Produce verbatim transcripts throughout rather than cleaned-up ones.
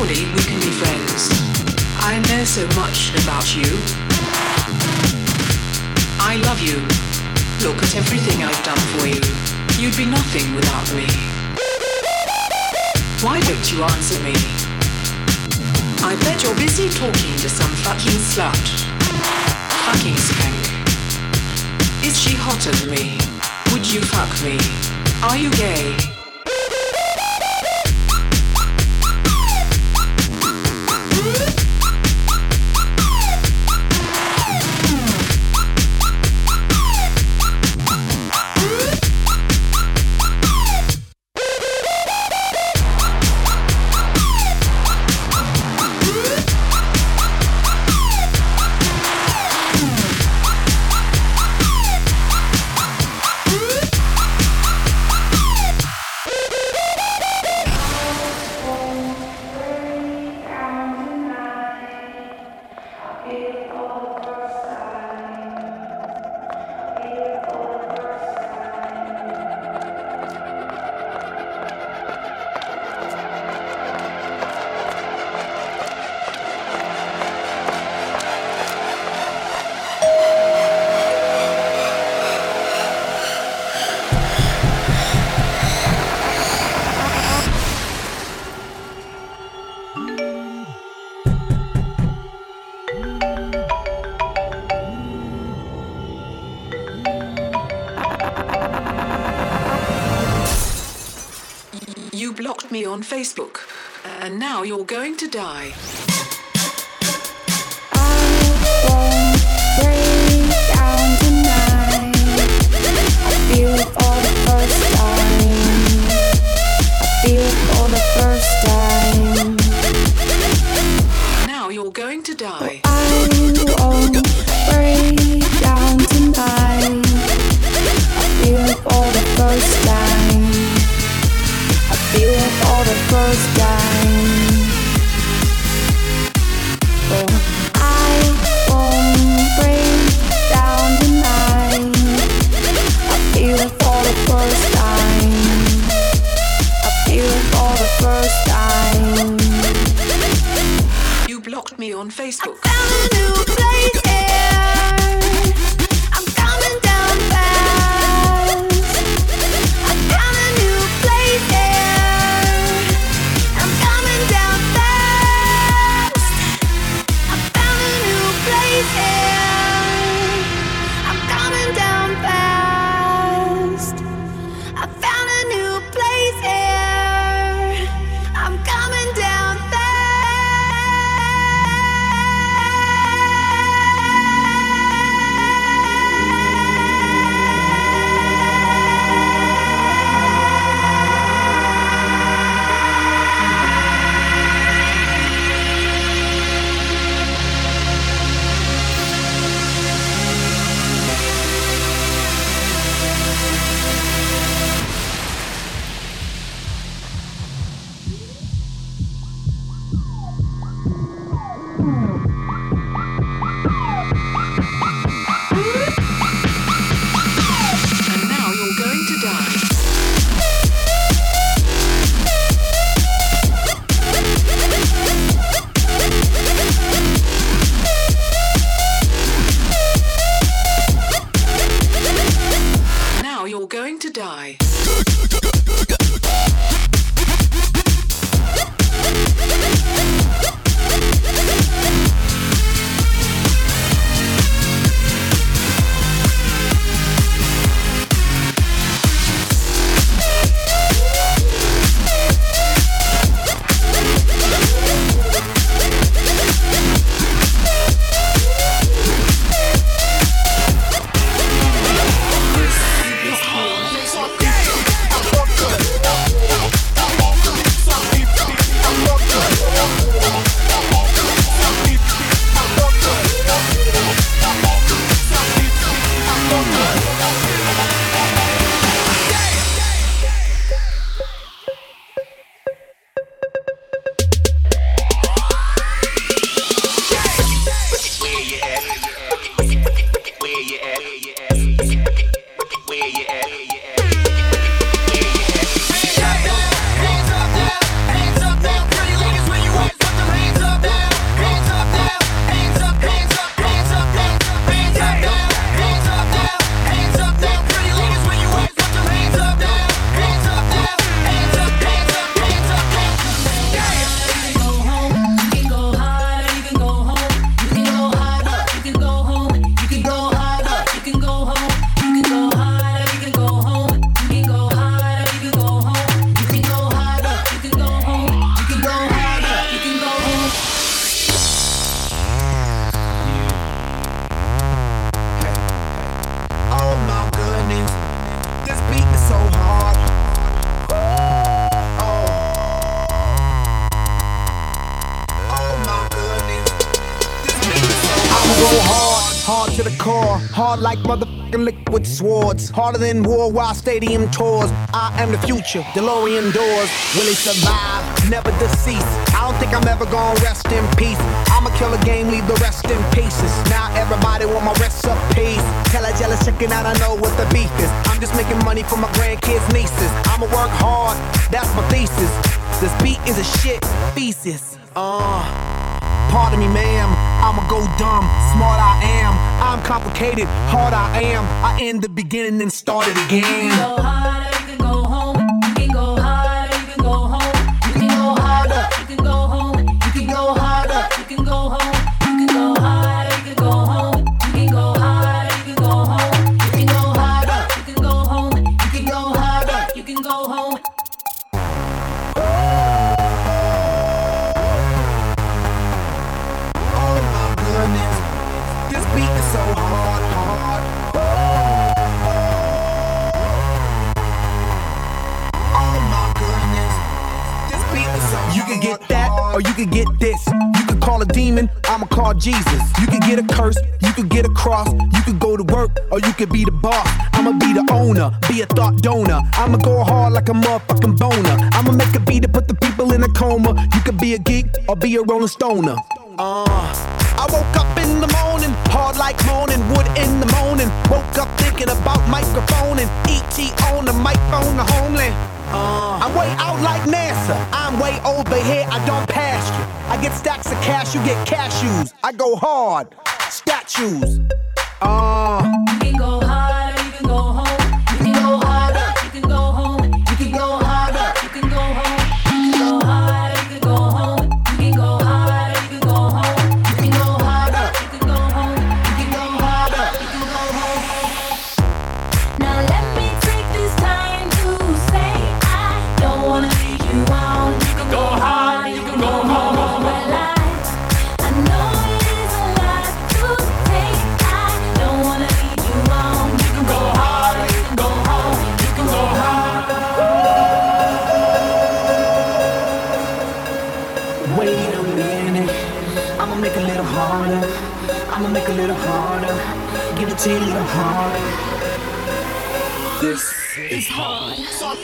Surely we can be friends. I know so much about you. I love you. Look at everything I've done for you. You'd be nothing without me. Why don't you answer me? I bet you're busy talking to some fucking slut. Fucking skank. Is she hotter than me? Would you fuck me? Are you gay? Me on Facebook, and now you're going to die. I won't break down tonight. I feel it for the first time. I feel it for the first time. Now you're going to die. I won't break down tonight. I feel it for the first time. Feel it for the first time. Oh, I won't break down tonight. I feel it for the first time. I feel it for the first time. You blocked me on Facebook. I found a new place here. I'm coming down fast. I found a new place here. core, hard like motherfucking liquid swords. Harder than worldwide stadium tours. I am the future, DeLorean doors. Will he survive? Never deceased. I don't think I'm ever gonna rest in peace. I'ma kill a game, leave the rest in pieces. Now everybody want my recipes. Tell a jealous chicken out, I know what the beef is. I'm just making money for my grandkids, nieces. I'ma work hard, that's my thesis. This beat is a shit thesis. Uh, pardon me, ma'am. I'ma go dumb, smart I am. I'm complicated, hard I am. I end the beginning and start it again. You can go harder, you can go home. You can go harder, you can go home. You can go harder, you can go home. You can go harder, you can go home. You can go harder, you can go home. You can go harder, you can go home. You can go harder, you can go home. You can go harder, you can go home. This beat is so hard, hard. Oh my goodness. This beat is so hard. You can get that, or you can get this. You can call a demon, I'ma call Jesus. You can get a curse, you can get a cross. You can go to work, or you can be the boss. I'ma be the owner, be a thought donor. I'ma go hard like a motherfucking boner. I'ma make a beat to put the people in a coma. You could be a geek, or be a rolling stoner. Uh, I woke up in the morning, hard like moaning, wood in the morning. Woke up thinking about microphone and E T on the microphone, the homeland. Uh, I'm way out like NASA, I'm way over here, I don't pass you. I get stacks of cash, you get cashews. I go hard, statues. Uh, You can go harder, you can go home. You can go harder, you can go home. You can go harder, you can go home. You can go harder, you can go home. You can go harder, you can go home. You can go harder, you can go home. You can go harder, you can go home. Now let me take this time to say I don't wanna leave you on. You can go hard, you can go home. Well, I, I know it is a lot to take. I don't wanna leave you on. You can go hard, you can go home. You can go hard. wait a minute, I'ma make it a little harder. I'ma make it a little harder. Give it to you a little harder. This is hard.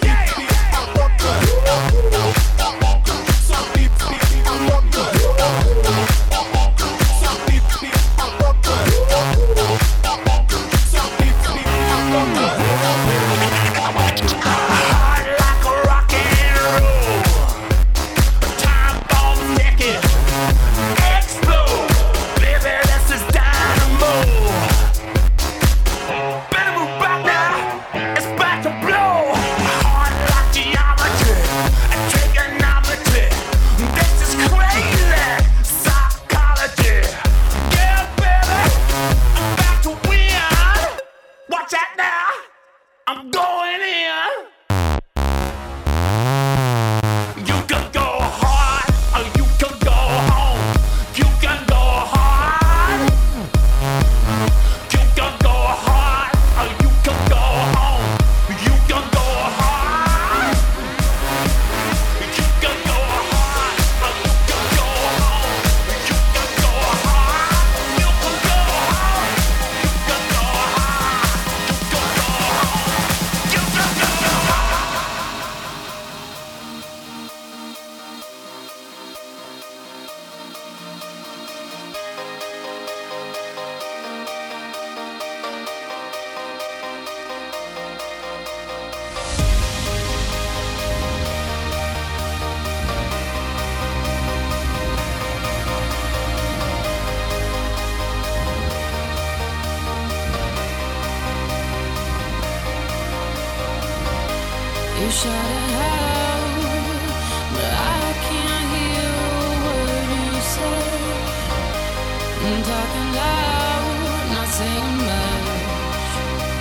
You shout it out, but I can't hear a word you say. I'm talking loud, not saying much.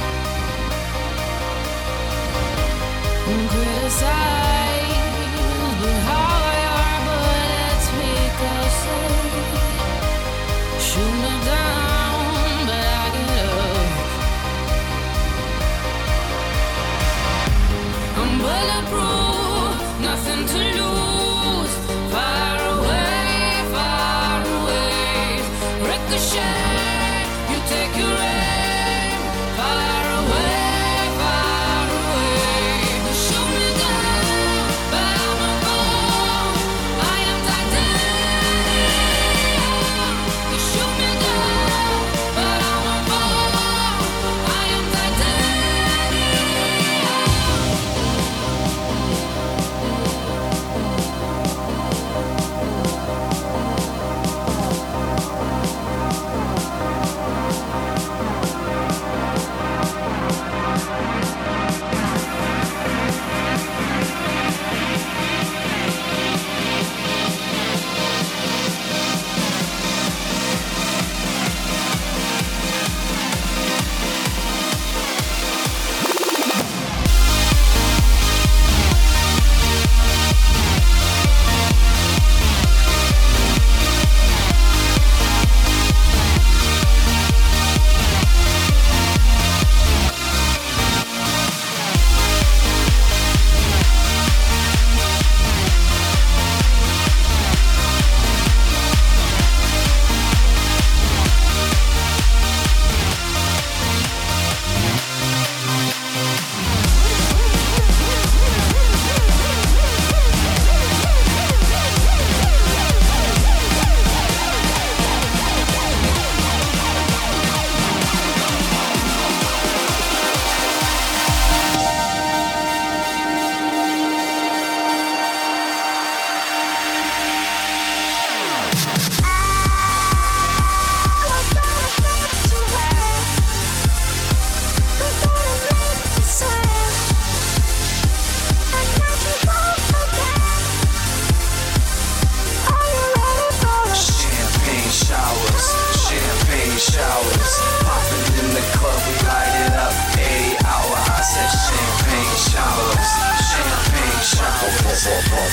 I'm criticized, but how your bullets ricochet. Shoot me down, but I get up. I'm bulletproof, nothing to lose. Far away, far away. Ricochet, you take your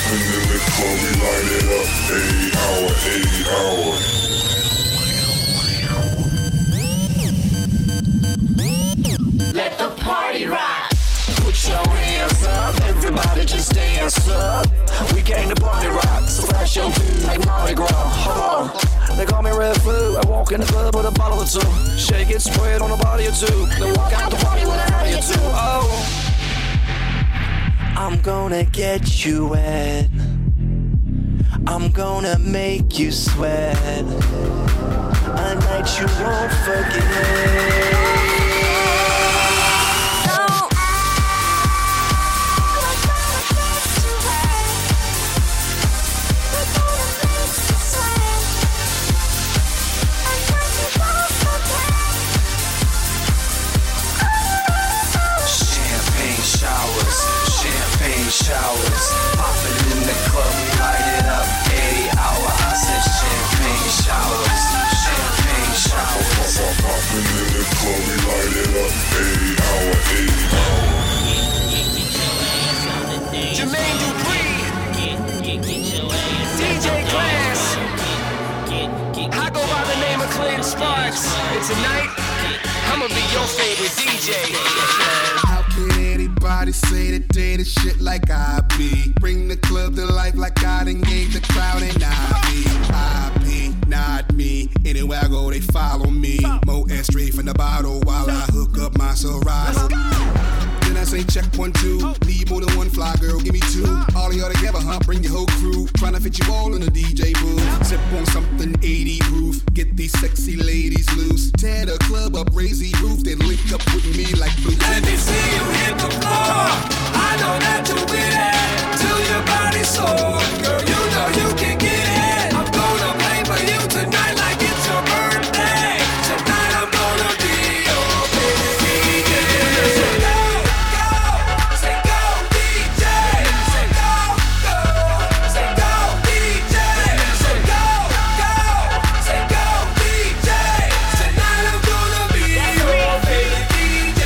popping in the club, we light it up. Eighty hour, eighty hour. Let the party rock. Put your hands up, everybody just dance up. We came to party rock, so flash your feet like Mardi Gras. Hold on, they call me Red Food. I walk in the club with a bottle or two, shake it, spread on a body or two, then walk out the party with a body or two. Oh, I'm gonna get you wet. I'm gonna make you sweat. A night you won't forget. Showers, popping in the club, we light it up. Eighty hour, I said champagne showers, champagne showers. Popping in the club, we light it up. Eighty hour, eighty hour. Jermaine Dupri, D J Class. I go by the name of Clinton Sparks, and tonight I'ma be your favorite D J. How can anybody say that they the shit like I be? Bring the club to life like I done gave the crowd an I be. I be, not me. Anywhere I go, they follow me. Moet straight from the bottle while I hook up my Syrah. Then I say check one, two. Need more than one fly girl, give me two. All of y'all together, huh? Bring your whole crew. Tryna fit you all in the D J booth. Sip on something eighty proof. Get these sexy ladies loose. Tear the club up, raise the roof. Then link up with me like blue. Let me see you hit the floor. I know that you're with it. Till your body's sore. Girl, you know you can get it. I'm gonna play for you tonight like it's your birthday. Tonight I'm gonna be your baby D J. Say go, go, say go D J. Say go, go, say go D J. Say go, go, say go D J. Tonight I'm gonna be your baby D J.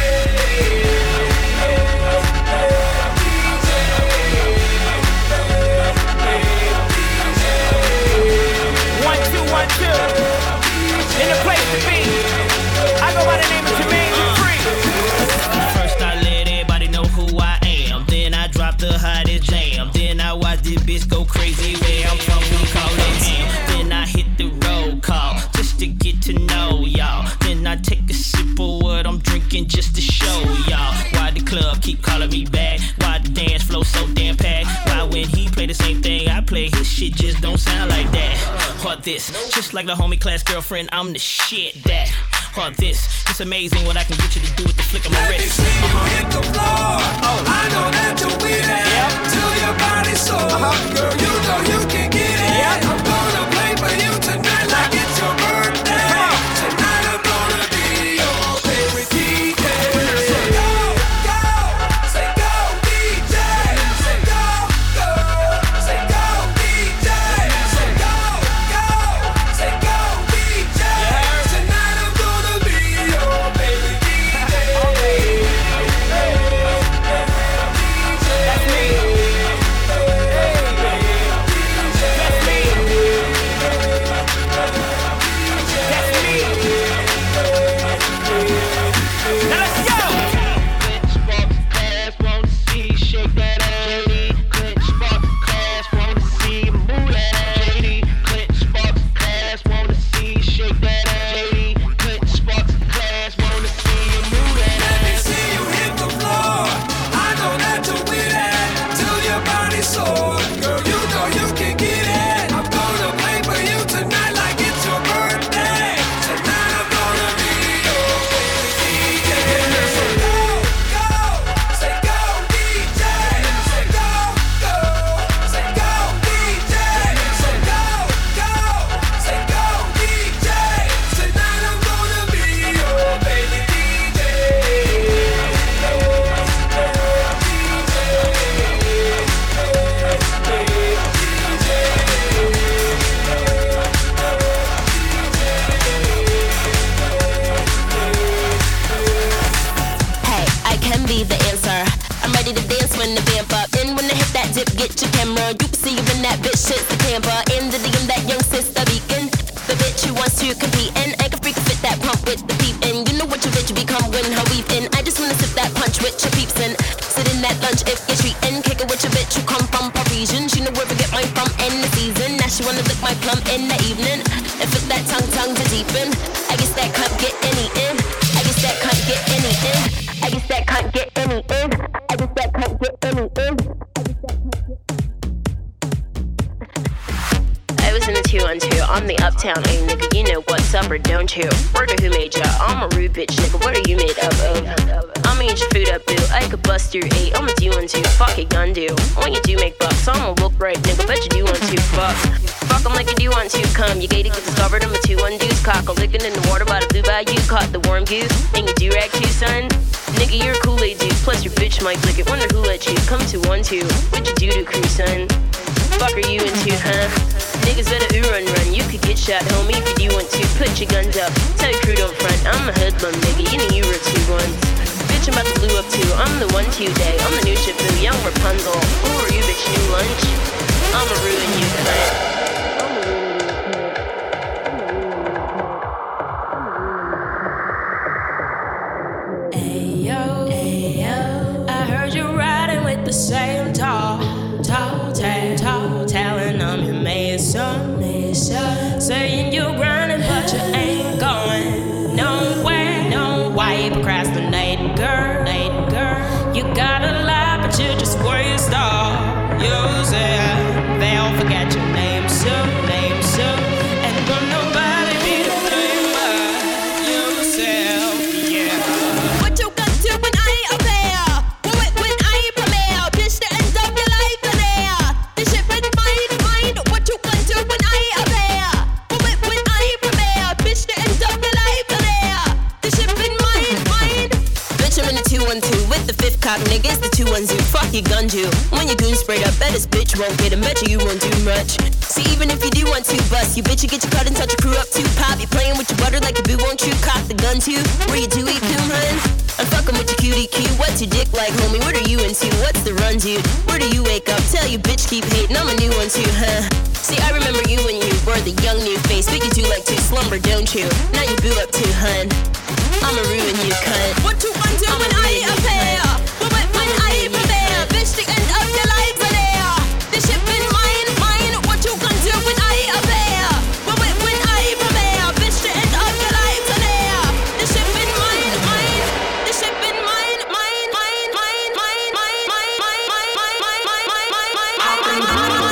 One, two, one, two. In the place to be. I go by the name of Jermaine Dupri. First I let everybody know who I am. Then I drop the hottest jam. Then I watch this bitch go crazy where I'm from. We call it ham. Then I hit the roll call just to get to know y'all. Then I take a sip of what I'm drinking just to show y'all. Why the club keep calling me back? Why the dance flow so damn packed? Why when he play the same thing I play, his shit just don't sound like that? Or this, just like the homie class girlfriend, I'm the shit that. Or this, it's amazing what I can get you to do with the flick of my Let me wrist. see you Uh-huh. hit the floor. Oh. I know that you're with it. Yep. Till your body's sore. Uh-huh. Girl, you know you can get it. Yep. I'm gonna play for you tonight like it's your birthday. Come on. Tonight I'm gonna be your favorite D J. Say go, go, say go D J. Say go, go, say go D J. Say go, go, say go D J. Tonight I'm gonna be your favorite D J. That's me. shit's the camper. In the D M, that young sister beacon. The bitch who wants to compete and I can freak fit that pump with the peep in. You know what your bitch become when her weave in. I just wanna sip that punch with your peeps in. Sit in that lunch if you're treating. Kick it with your bitch who come from Parisian. She know where to get mine from in the season. Now she wanna lick my plum in the evening. And fit that tongue tongue to deepen. I guess that can't get any in. I guess that can't get any in. I guess that can't get any in. I guess that can't get any in. I was in the two on two, I'm the uptown, hey nigga, you know what's up or don't you? Word of who made ya? I'm a rude bitch, nigga, what are you made up of? I'ma eat your food up, boo, I could bust your eight, I'ma do one two, fuck it, gun do. When you do make bucks, I'ma look right, nigga, bet you do want to, fuck. Fuck 'em like you do want to, come, you gated, get discovered, I'm a two one deuce, cock, a lickin' in the water by the blue bayou, caught the warm goose, and you do rag too, son? Nigga, you're a Kool-Aid dude, plus your bitch might lick it, wonder who let you come to one two, what you do to crew, son? Fuck are you into, huh? Niggas better ooh run run, you could get shot, homie, if you do want to. Put your guns up, tell your crew don't front. I'm a hoodlum, nigga, you know you were two ones. Bitch, I'm about to blue up too, I'm the one today. I'm the new Shifu, young Rapunzel. Who are you, bitch, new lunch? I'ma ruin you, cunt. Ayo, ayo, I heard you riding with the same tall, tall, tall, tall, telling I'm your mason, mason. Saying you grinding, but you ain't going nowhere. No, why you procrastinating, girl, girl? You got a lie, but you just waste all yourself. They'll forget your name soon, name soon, and don't nobody be the thing but yourself, yeah. What you got to when I appear? When, when I premiere, bitch, the end of your life in there. This shit been mine, mine. What you got to when I appear? When, when I premiere, bitch, the end of your life in there. This shit been mine, mine. Bitch, I'm in the two one two with the fifth cock, nigga. It's the two one two. Fuck your gun, you. When you goon sprayed up, bet this bitch won't get him. Bet you you won't do much. See, even if you do want to bust, you bitch, you get your cut and touch your crew up too. Pop, you playing with your butter like a boo, won't you? Cock the gun too. Where you do eat doom, hun? I'm fucking with your cutie Q. What's your dick like, homie? What are you into? What's the run, dude? Where do you wake up? Tell you bitch keep hating. I'm a new one too, huh? See, I remember you when you were the young new face, but you do like to slumber, don't you? Now you boo up too, hun. I'ma ruin you, cunt. What you want to when I appear? When, when I prepare, bitch, the end of your life in there. This shit been mine, mine. What you gonna do when I appear? When, when, when I prepare, bitch, the end of your life in there. This shit been mine, mine. This shit been mine, mine, mine, mine, mine, mine, mine, mine, mine, mine, mine, mine, mine, mine,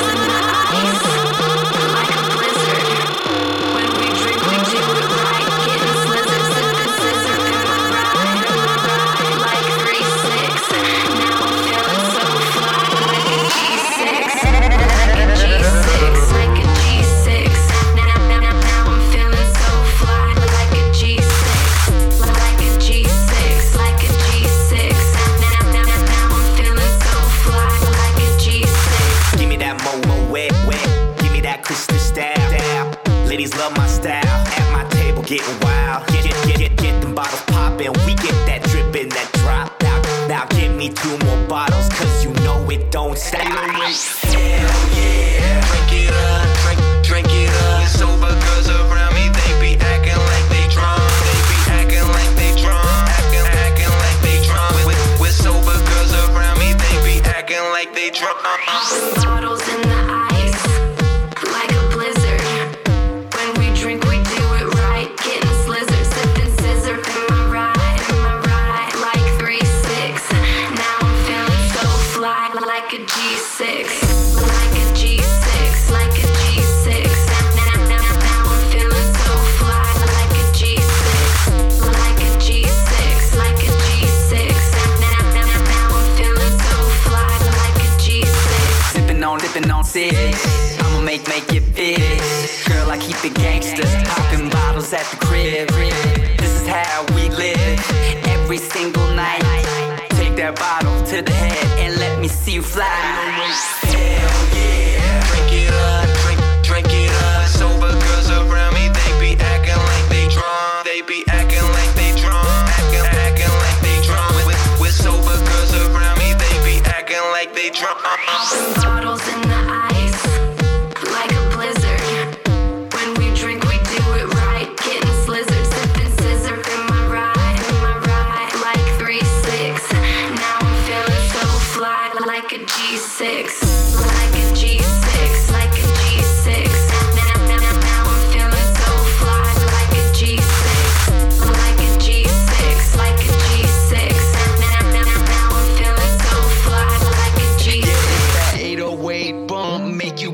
Like a blizzard. When we drink, we do it right. Getting slizzard, sipping scissor through the ride. Like three six. Now I'm feeling so fly. Like a G six. Like a G six. Like a G six. Now, now, now, now I'm feeling so fly. Like a G six. Like a G six. Like a G six. Now, now, now, now I'm feeling so fly. Like a G six. Give me that mo-mo wet, wet. Give me that crystal style. Ladies love my style. At my table getting wild. Get, get, get, get, get them bottles poppin'. We get that drippin', that drop out. Now give me two more bottles, cause you know it don't stop. Hell yeah. Drink it up, drink, drink it up. Sober girls around me, they be acting like they drunk. They be acting like they drunk. Acting, acting like they drunk. With, with sober girls around me, they be acting like they drunk. Bottles in the ice, like a blizzard. When we drink, we do it right. Getting slizzard, sipping scissor in my ride, in my ride. Like three six. Now I'm feeling so fly, like a G six, like a G six, like a G six. Now, now, now I'm feeling so fly, like a G six, like a G six, like a G six. Now, now, now I'm feeling so fly, like a G six. Sippin' on, dippin' on six. I'ma make, make it fit. Girl, I keep it gangsta. Poppin' bottles at the crib. This is how we live. Every single night. Take that bottle to the head and let me see you fly. Hell yeah. Drink it up, drink, drink it up. Sober girls around me, they be acting like they drunk. They be acting like they drunk. Acting, acting like they drunk. With, with sober girls around me, they be acting like they drunk. Bottles in the ice,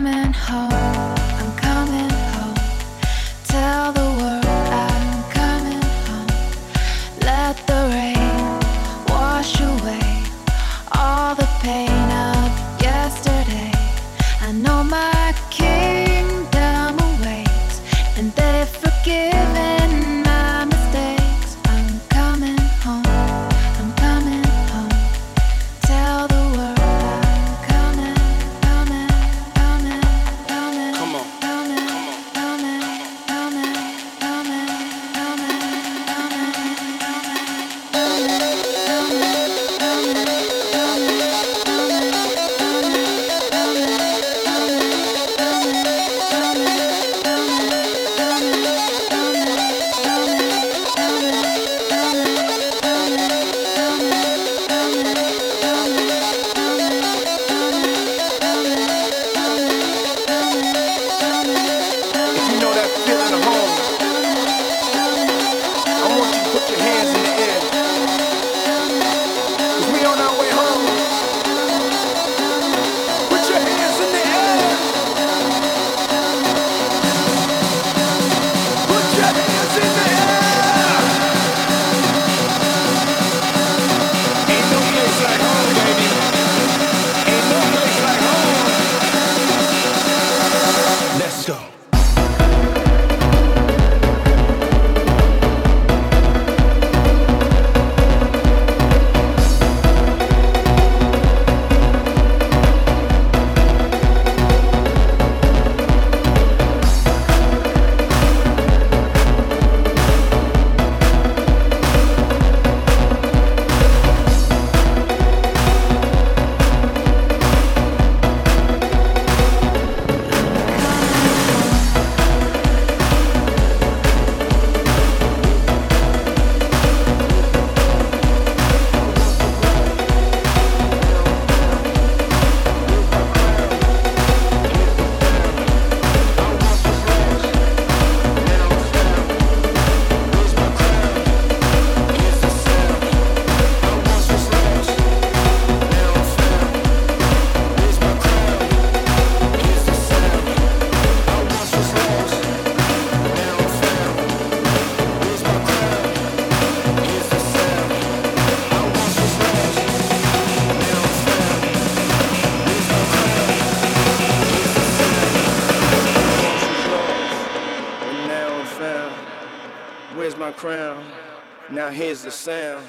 coming home, I'm coming home. Tell the world I'm coming home. Let the rain wash away all the pain of yesterday. I know my kingdom awaits, and they've forgiven my mistakes. I'm coming home, I'm coming home. Tell the world I'm coming, coming, coming, coming, Come on. coming, coming, coming, coming, If you know that feeling of home, I want you to put your hands in the air. 'Cause we on our way home. Put your hands in the air. Put your hands in the air. Ain't no place like home, baby. Ain't no place like home. Let's go. Where's my crown? Now here's the sound.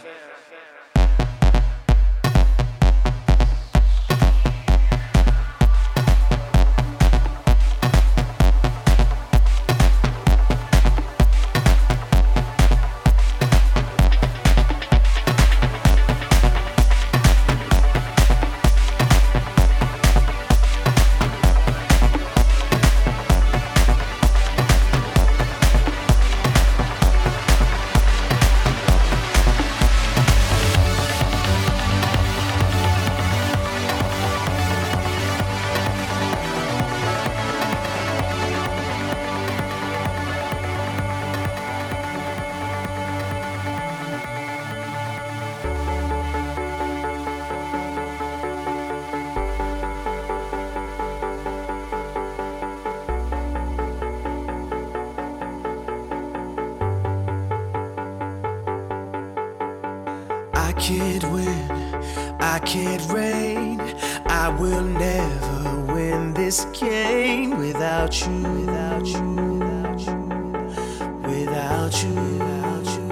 I can't win, I can't reign. I will never win this game without you, without you, without you, without you, without you.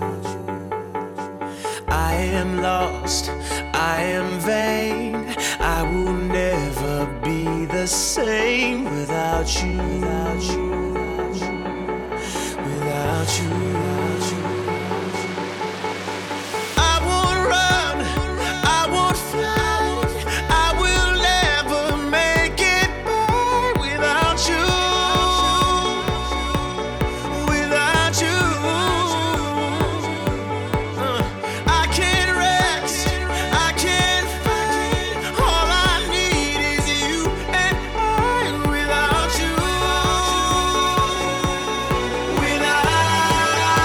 I am lost, I am vain. I will never be the same without you, without you, without you, without you, without you. without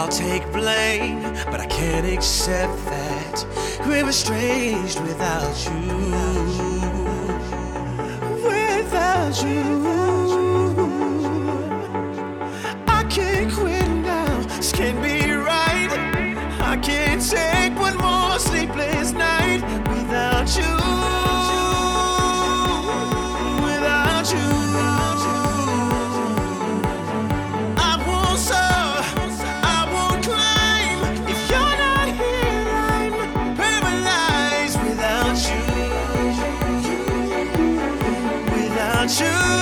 I'll take blame, but I can't accept that we're estranged without you. Without you, I can't quit now. This can't be right. I can't take one more sleepless night without you. Without you. You,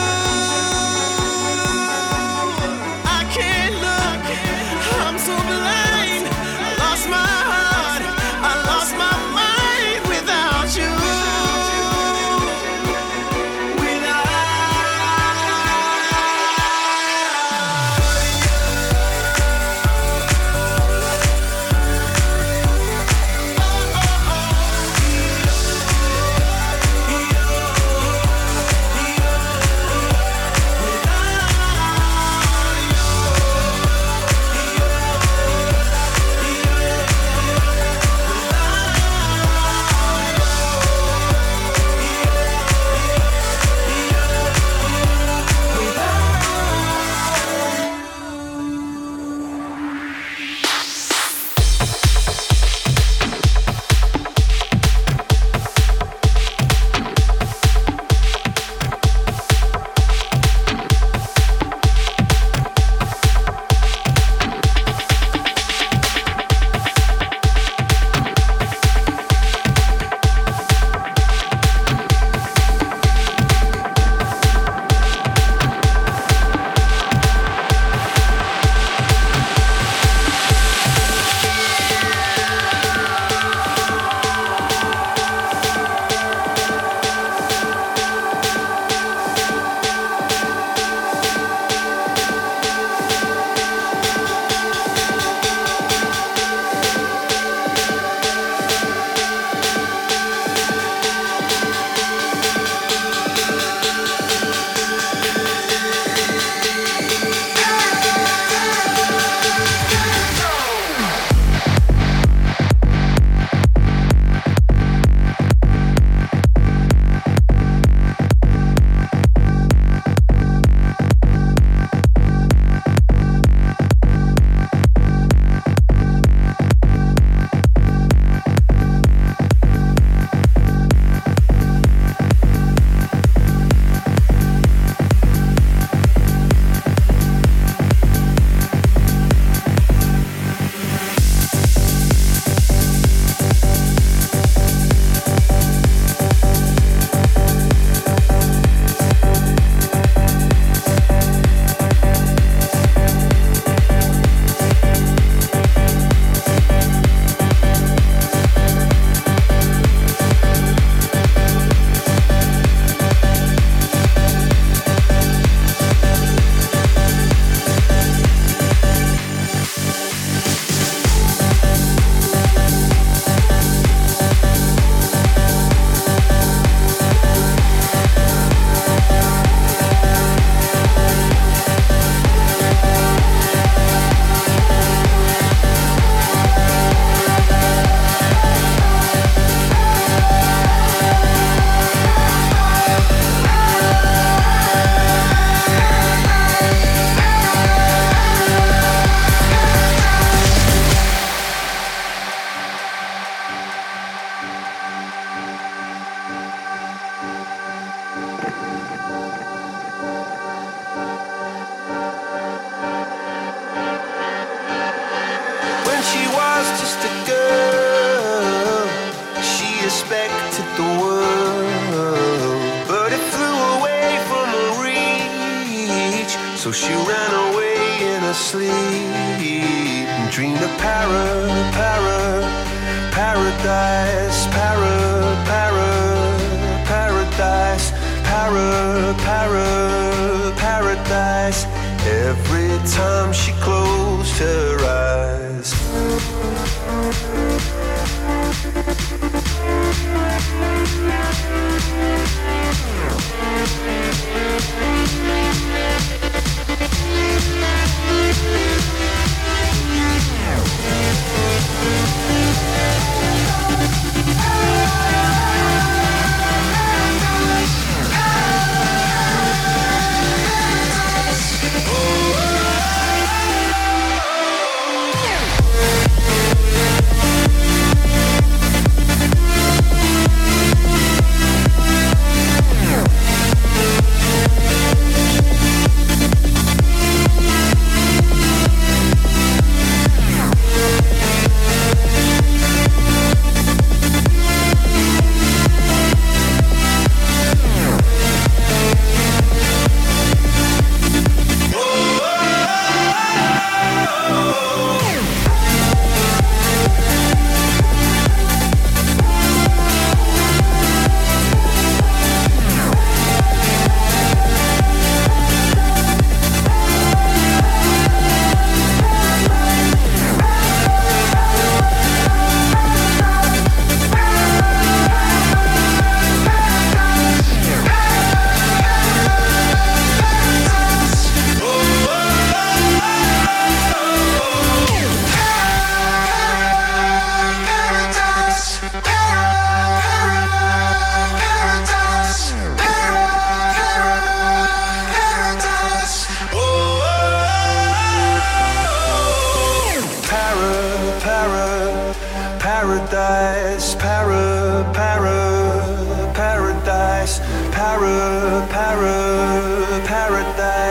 I can't look, I'm so blind. I lost my heart, I lost my mind without you. So she ran away in her sleep and dreamed of para, para, paradise, para, para, paradise, para, para, paradise. Every time she closed her eyes.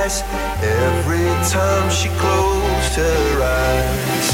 eyes every time she closed her eyes.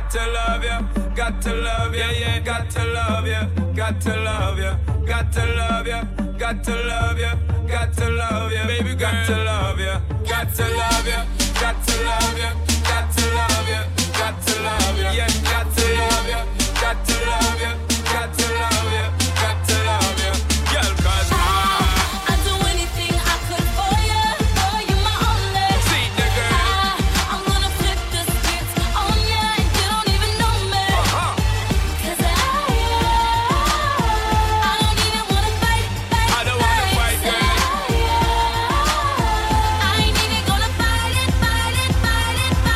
got to love you, got to love you, yeah, got to love you, got to love you, got to love you, got to love you, got to love you, baby, got to love you, got to love you, got to love you, got to love you, got to love you, yeah, got to love you, got to love you, got to love you, got to love you, girl, 'cause I I'd do anything I could for you, for you my only. see the girl. I, I'm gonna flip the script on ya and you don't even know me. Uh-huh. 'Cause I, I don't even wanna fight, fight, I don't wanna fight, fight. girl. I ain't even gonna fight it, fight it, fight it, fight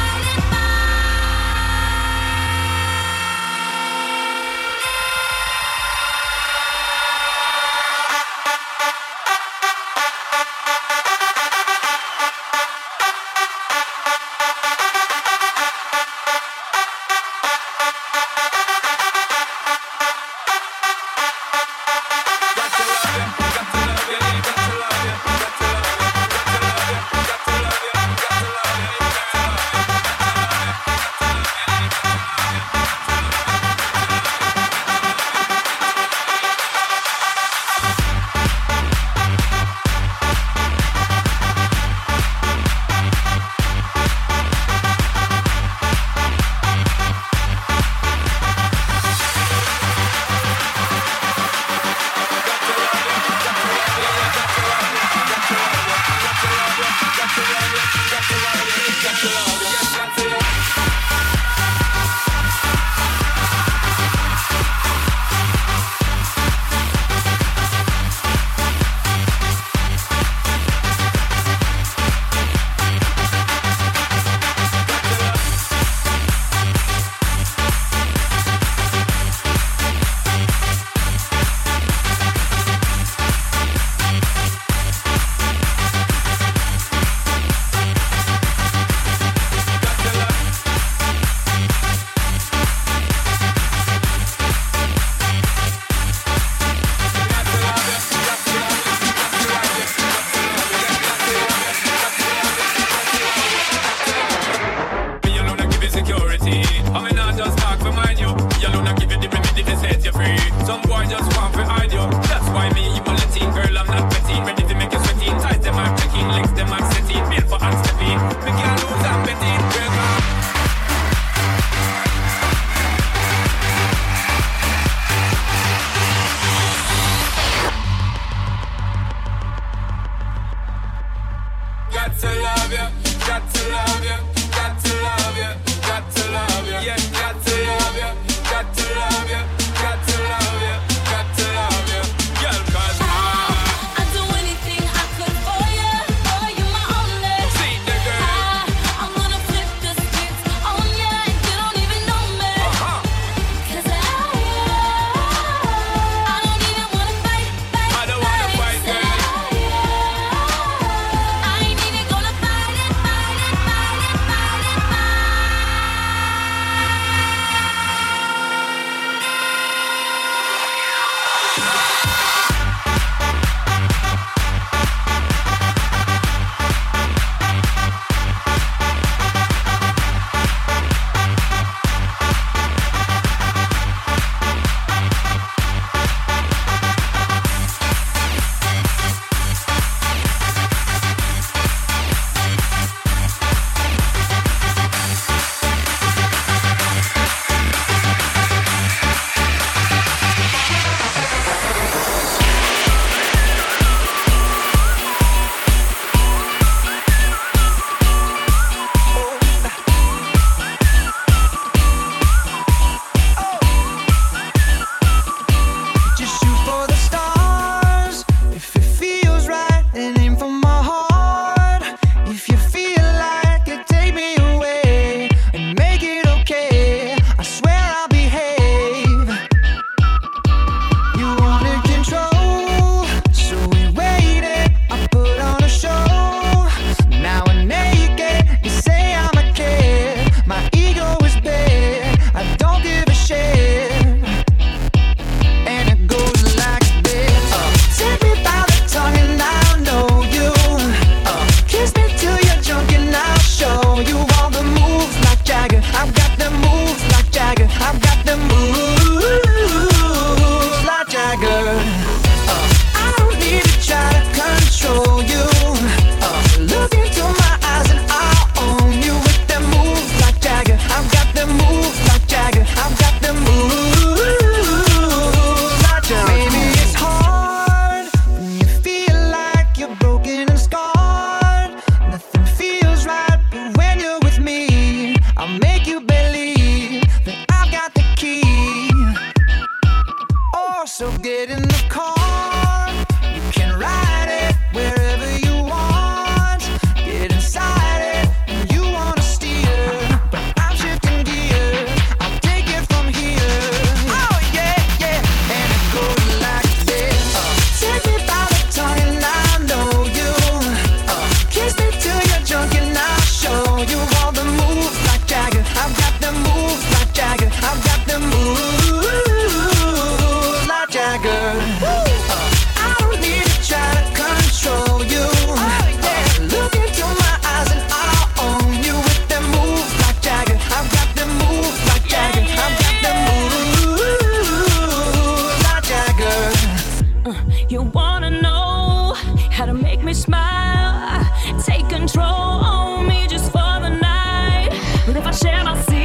gonna see